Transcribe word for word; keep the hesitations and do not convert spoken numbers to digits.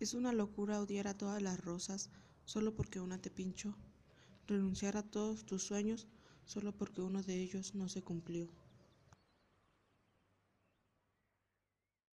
Es una locura odiar a todas las rosas solo porque una te pinchó, renunciar a todos tus sueños solo porque uno de ellos no se cumplió.